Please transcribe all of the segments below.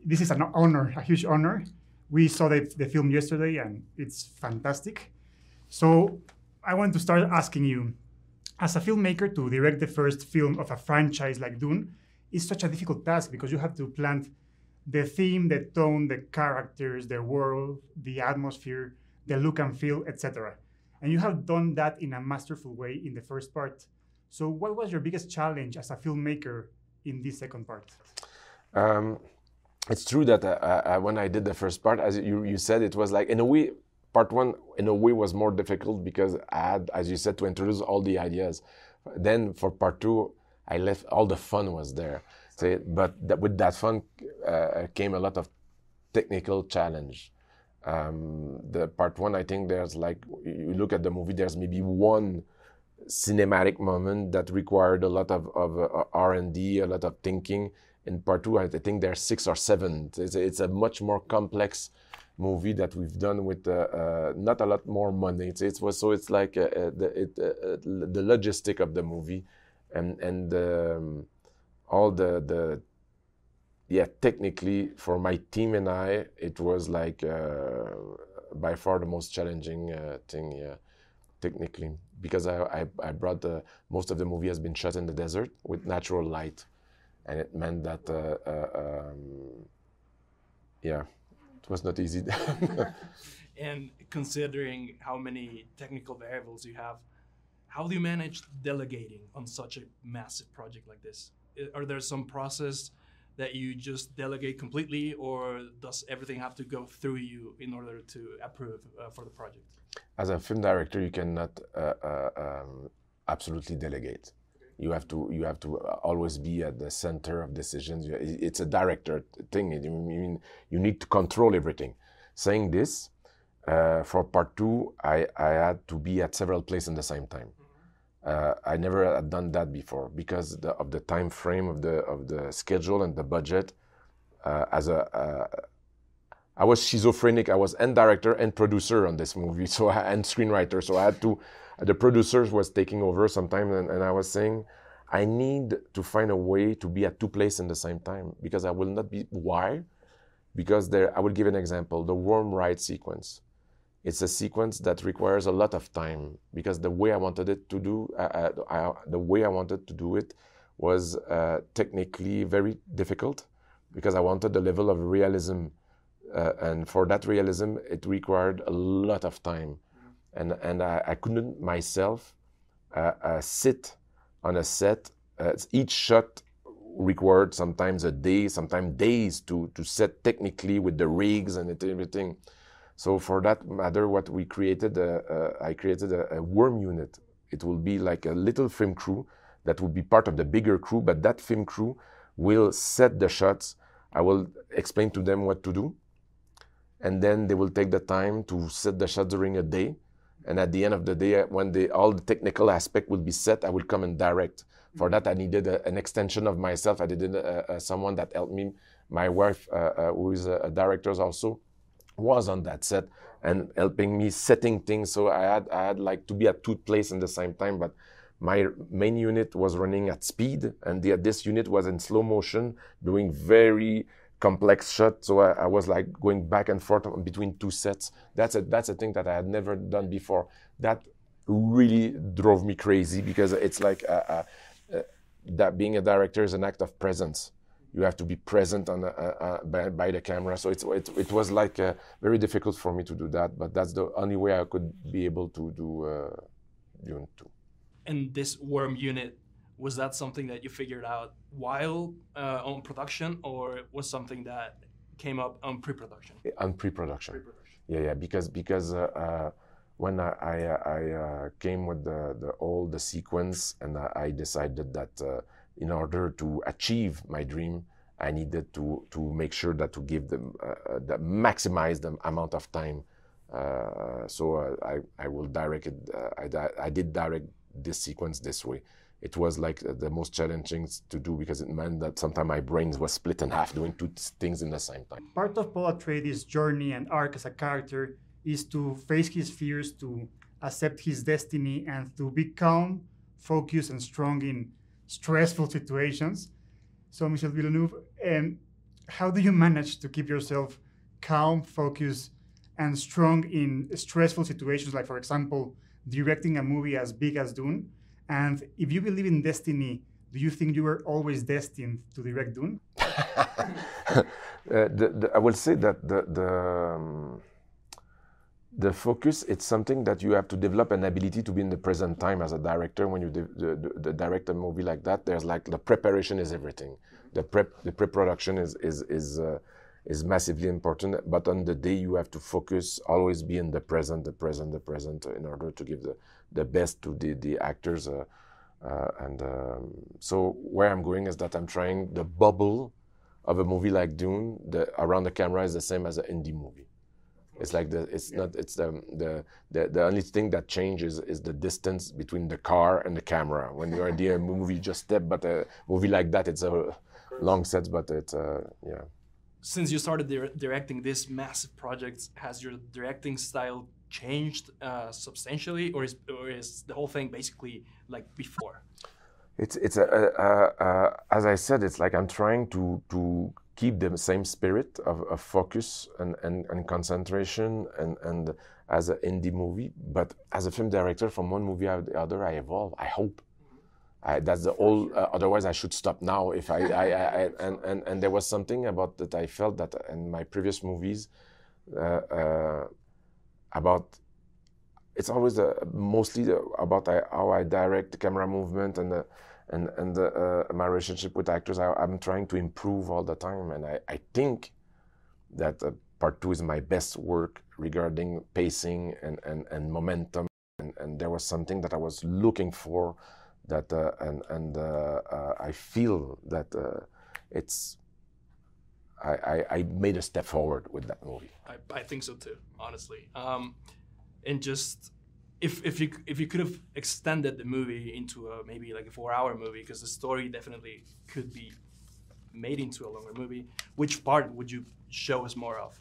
this is an honor, a huge honor. We saw the film yesterday, and it's fantastic. So I want to start asking you, as a filmmaker, to direct the first film of a franchise like Dune is such a difficult task because you have to plant the theme, the tone, the characters, the world, the atmosphere, the look and feel, etc. And you have done that in a masterful way in the first part. So what was your biggest challenge as a filmmaker in this second part? It's true that when I did the first part, as you said, it was like, in a way, part one, in a way, was more difficult because I had, as you said, to introduce all the ideas. Then for part two, I left, all the fun was there. So, but with that fun came a lot of technical challenge. The part one, I think there's like, you look at the movie, there's maybe one cinematic moment that required a lot of R&D, a lot of thinking. In part two, I think there's 6 or 7. It's a much more complex movie that we've done with not a lot more money. It's like the logistic of the movie and all the technically for my team and I, it was like by far the most challenging thing, technically, because I brought most of the movie has been shot in the desert with natural light, and it meant that it was not easy. And considering how many technical variables you have, how do you manage delegating on such a massive project like this? Are there some process that you just delegate completely, or does everything have to go through you in order to approve for the project? As a film director, you cannot absolutely delegate. You have to always be at the center of decisions. It's a director thing. I mean, you need to control everything. Saying this, for part two, I had to be at several places at the same time. I never had done that before because of the time frame of the schedule and the budget. I was schizophrenic. I was and director and producer on this movie, and screenwriter. So I had to. The producers was taking over sometimes, and I was saying, I need to find a way to be at 2 places in the same time because I will not be. Why? Because I will give an example. The worm ride sequence. It's a sequence that requires a lot of time because the way I wanted it to do, it was technically very difficult because I wanted the level of realism, and for that realism, it required a lot of time. And I couldn't myself sit on a set. Each shot required sometimes a day, sometimes days to set technically with the rigs and everything. So for that matter, what we created, I created a worm unit. It will be like a little film crew that will be part of the bigger crew, but that film crew will set the shots. I will explain to them what to do. And then they will take the time to set the shots during a day. And at the end of the day, when all the technical aspect will be set, I will come and direct. For that, I needed an extension of myself. I needed someone that helped me. My wife, who is a director also, was on that set and helping me setting things. So I had like to be at 2 places in the same time. But my main unit was running at speed, and this unit was in slow motion, doing very complex shot. So I was like going back and forth between 2 sets. That's a thing that I had never done before. That really drove me crazy because it's like that being a director is an act of presence. You have to be present on by the camera. So it was like very difficult for me to do that. But that's the only way I could be able to do Dune 2. And this worm unit, was that something that you figured out while on production, or was something that came up on pre-production? On pre-production. Yeah, because when I came with the sequence, and I decided that in order to achieve my dream, I needed to make sure that to give them that maximize the amount of time. So I will direct it. I did direct this sequence this way. It was like the most challenging to do because it meant that sometimes my brain was split in half doing 2 things in the same time. Part of Paul Atreides' journey and arc as a character is to face his fears, to accept his destiny, and to be calm, focused, and strong in stressful situations. So Michel Villeneuve, how do you manage to keep yourself calm, focused, and strong in stressful situations, like, for example, directing a movie as big as Dune? And if you believe in destiny, do you think you were always destined to direct Dune? I will say that the focus, it's something that you have to develop an ability to be in the present time as a director. When you direct a movie like that, there's like the preparation is everything. The pre-production is massively important. But on the day, you have to focus, always be in the present, in order to give the best to the actors. So where I'm going is that I'm trying the bubble of a movie like Dune. Around the camera is the same as an indie movie. It's like the only thing that changes is the distance between the car and the camera. When you're in a movie, you just step. But a movie like that, it's a long set. But it's yeah. Since you started directing this massive project, has your directing style changed substantially, or is the whole thing basically like before? It's as I said, it's like I'm trying to keep the same spirit of focus and concentration and as an indie movie, but as a film director, from one movie to the other, I evolve. I hope. That's the whole. Otherwise, I should stop now. If and there was something about that I felt that in my previous movies about. It's always mostly about how I direct the camera movement and my relationship with actors. I'm trying to improve all the time, and I think that part 2 is my best work regarding pacing and momentum. And there was something that I was looking for, that I feel that it's. I made a step forward with that movie. I think so too, honestly. And just if you could have extended the movie into maybe like a 4-hour movie, because the story definitely could be made into a longer movie, which part would you show us more of?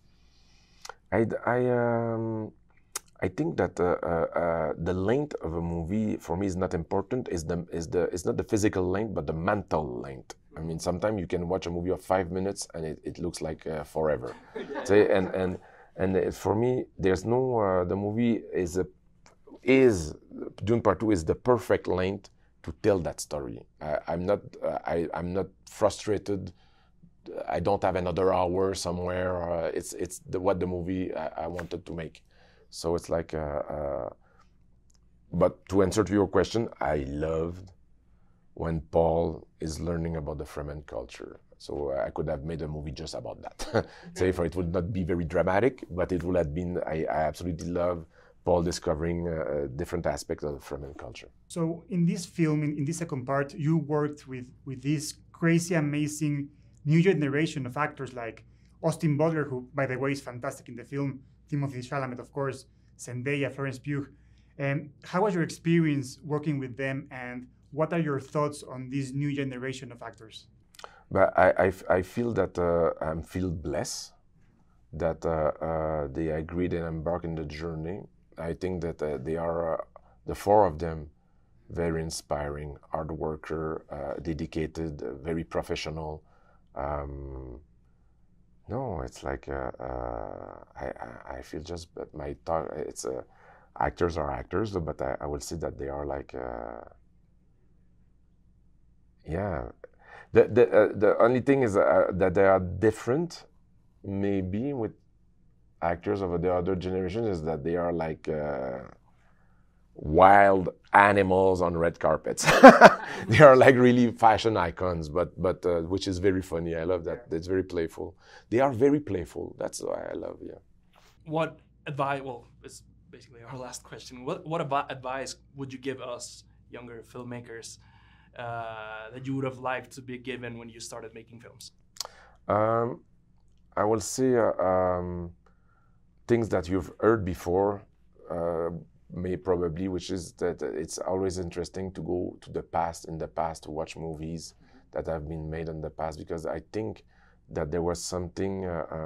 I think that the length of a movie for me is not important. It's not the physical length, but the mental length. I mean, sometimes you can watch a movie of 5 minutes and it looks like forever. And for me, there's no. The movie is Dune Part 2 is the perfect length to tell that story. I'm not frustrated. I don't have another hour somewhere. It's what the movie I wanted to make. So it's like. But to answer to your question, I loved when Paul is learning about the Fremen culture. So I could have made a movie just about that. So if it would not be very dramatic, but it would have been, I absolutely love Paul discovering different aspects of the Fremen culture. So in this film, in this second part, you worked with this crazy, amazing new generation of actors like Austin Butler, who, by the way, is fantastic in the film, Timothée Chalamet, of course, Zendaya, Florence Pugh. How was your experience working with them, and what are your thoughts on this new generation of actors? But I feel that I feel blessed that they agreed and embarked in the journey. I think that they are, the 4 of them, very inspiring, hard worker, dedicated, very professional. No, it's like I feel just my thought. It's actors are actors, but I will say that they are like yeah. The only thing is that they are different, maybe with actors of the other generation, is that they are like wild animals on red carpets. They are like really fashion icons, but which is very funny. I love that. It's very playful. They are very playful. That's why I love. Yeah. What advice? Well, it's basically our last question. What advice would you give us younger filmmakers that you would have liked to be given when you started making films? I will say things that you've heard before, which is that it's always interesting to go to the past, to watch movies that have been made in the past, because I think that there was something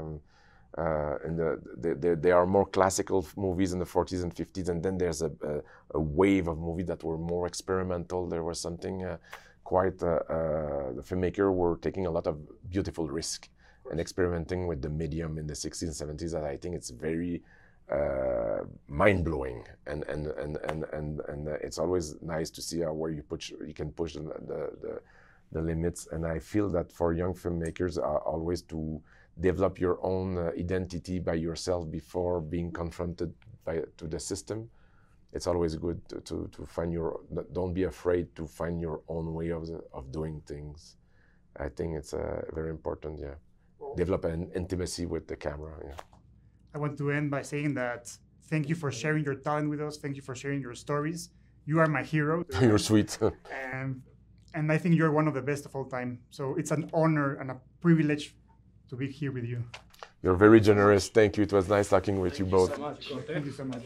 there are more classical movies in the 40s and 50s, and then there's a wave of movies that were more experimental. There was something quite the filmmaker were taking a lot of beautiful risk and experimenting with the medium in the 60s and 70s. That I think it's very mind-blowing, and it's always nice to see where you can push the limits. And I feel that for young filmmakers, always to develop your own identity by yourself before being confronted to the system. It's always good to find don't be afraid to find your own way of doing things. I think it's very important, yeah. Develop an intimacy with the camera, yeah. I want to end by saying that thank you for sharing your talent with us. Thank you for sharing your stories. You are my hero. You're sweet. And I think you're one of the best of all time. So it's an honor and a privilege to be here with you. You're very generous. Thank you. It was nice talking with you both. Thank you so much.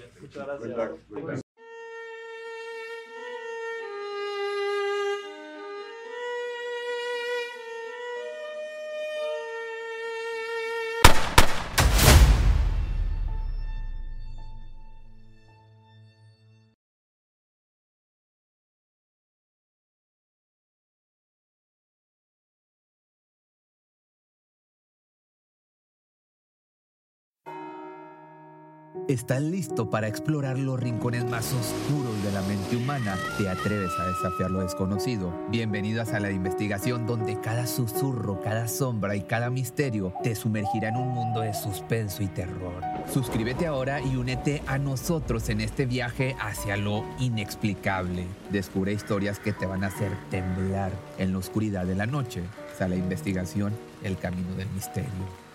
¿Estás listo para explorar los rincones más oscuros de la mente humana? ¿Te atreves a desafiar lo desconocido? Bienvenido a Sala de Investigación, donde cada susurro, cada sombra y cada misterio te sumergirá en un mundo de suspenso y terror. Suscríbete ahora y únete a nosotros en este viaje hacia lo inexplicable. Descubre historias que te van a hacer temblar en la oscuridad de la noche. Sala de Investigación, el camino del misterio.